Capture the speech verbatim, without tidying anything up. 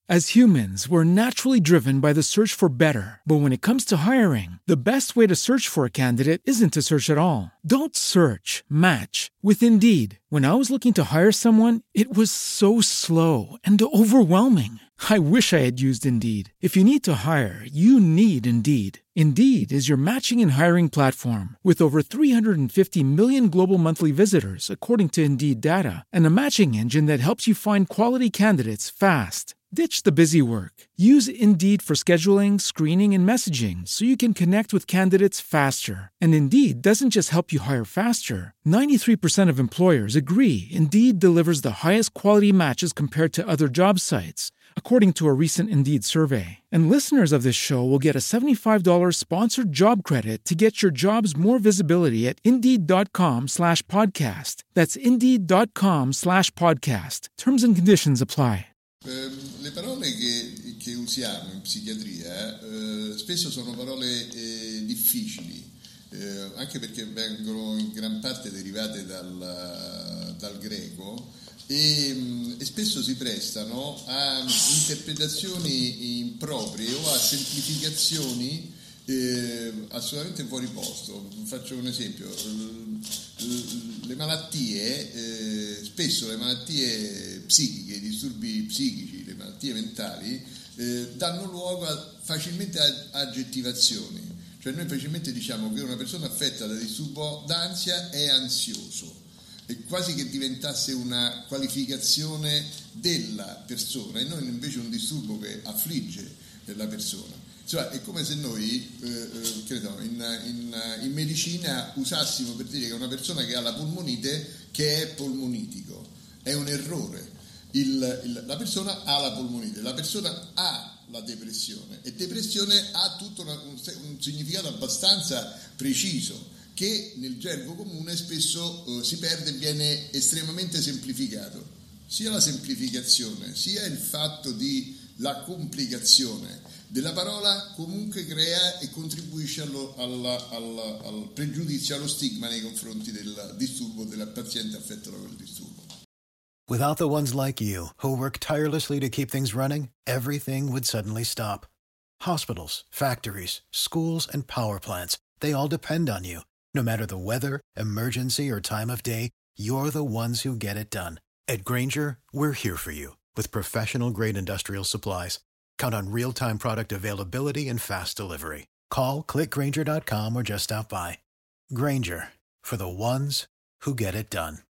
As humans, we're naturally driven by the search for better. But when it comes to hiring, the best way to search for a candidate isn't to search at all. Don't search, match with Indeed. When I was looking to hire someone, it was so slow and overwhelming. I wish I had used Indeed. If you need to hire, you need Indeed. Indeed is your matching and hiring platform with over three hundred fifty million global monthly visitors, according to Indeed data, and a matching engine that helps you find quality candidates fast. Ditch the busy work. Use Indeed for scheduling, screening, and messaging so you can connect with candidates faster. And Indeed doesn't just help you hire faster. ninety-three percent of employers agree Indeed delivers the highest quality matches compared to other job sites, according to a recent Indeed survey. And listeners of this show will get a seventy-five dollars sponsored job credit to get your jobs more visibility at Indeed.com slash podcast. That's Indeed.com slash podcast. Terms and conditions apply. Eh, le parole che, che usiamo in psichiatria eh, spesso sono parole eh, difficili, eh, anche perché vengono in gran parte derivate dal, dal greco e, e spesso si prestano a interpretazioni improprie o a semplificazioni eh, assolutamente fuori posto. Faccio un esempio: le malattie, eh, spesso le malattie psichiche, i disturbi psichici, le malattie mentali eh, danno luogo a, facilmente a aggettivazioni, cioè noi facilmente diciamo che una persona affetta da disturbo d'ansia è ansioso, è quasi che diventasse una qualificazione della persona e non invece un disturbo che affligge la persona. Cioè, è come se noi, eh, eh, credo, in, in, in medicina usassimo per dire che una persona che ha la polmonite che è polmonitico. È un errore. Il, il, la persona ha la polmonite, la persona ha la depressione e depressione ha tutto una, un, un significato abbastanza preciso che nel gergo comune spesso eh, si perde e viene estremamente semplificato. Sia la semplificazione, sia il fatto di la complicazione della parola comunque crea e contribuisce allo, alla, alla, al pregiudizio, allo stigma nei confronti del disturbo, del paziente affetto da quel disturbo. Without the ones like you, who work tirelessly to keep things running, everything would suddenly stop. Hospitals, factories, schools, and power plants, they all depend on you. No matter the weather, emergency, or time of day, you're the ones who get it done. At Grainger, we're here for you with professional-grade industrial supplies. Count on real-time product availability and fast delivery. Call, click Grainger dot com, or just stop by. Grainger, for the ones who get it done.